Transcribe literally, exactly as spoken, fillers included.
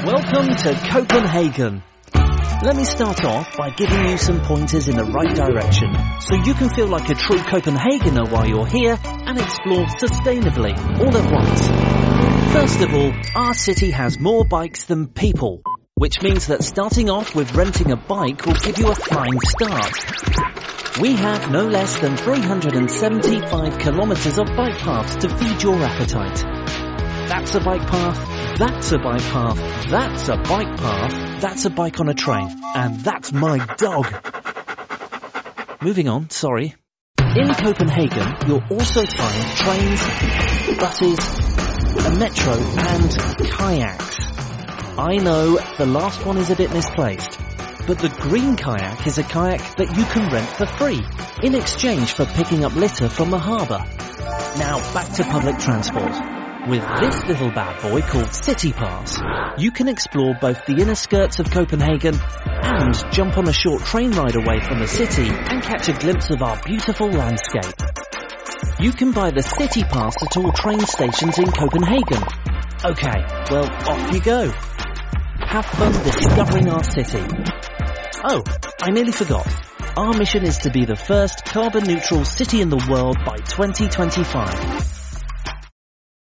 Welcome to Copenhagen. Let me start off by giving you some pointers in the right direction so you can feel like a true Copenhagener while you're here and explore sustainably all at once. First of all, our city has more bikes than people, which means that starting off with renting a bike will give you a flying start. We have no less than three hundred seventy-five kilometers of bike paths to feed your appetite. That's a bike path, that's a bike path, that's a bike path, that's a bike on a train, and that's my dog. Moving on, sorry. In Copenhagen, you'll also find trains, buses, a metro, and kayaks. I know the last one is a bit misplaced, but the green kayak is a kayak that you can rent for free, in exchange for picking up litter from the harbour. Now back to public transport. With this little bad boy called City Pass, you can explore both the inner skirts of Copenhagen and jump on a short train ride away from the city and catch a glimpse of our beautiful landscape. You can buy the City Pass at all train stations in Copenhagen. Okay, well, off you go. Have fun discovering our city. Oh, I nearly forgot. Our mission is to be the first carbon neutral city in the world by twenty twenty-five.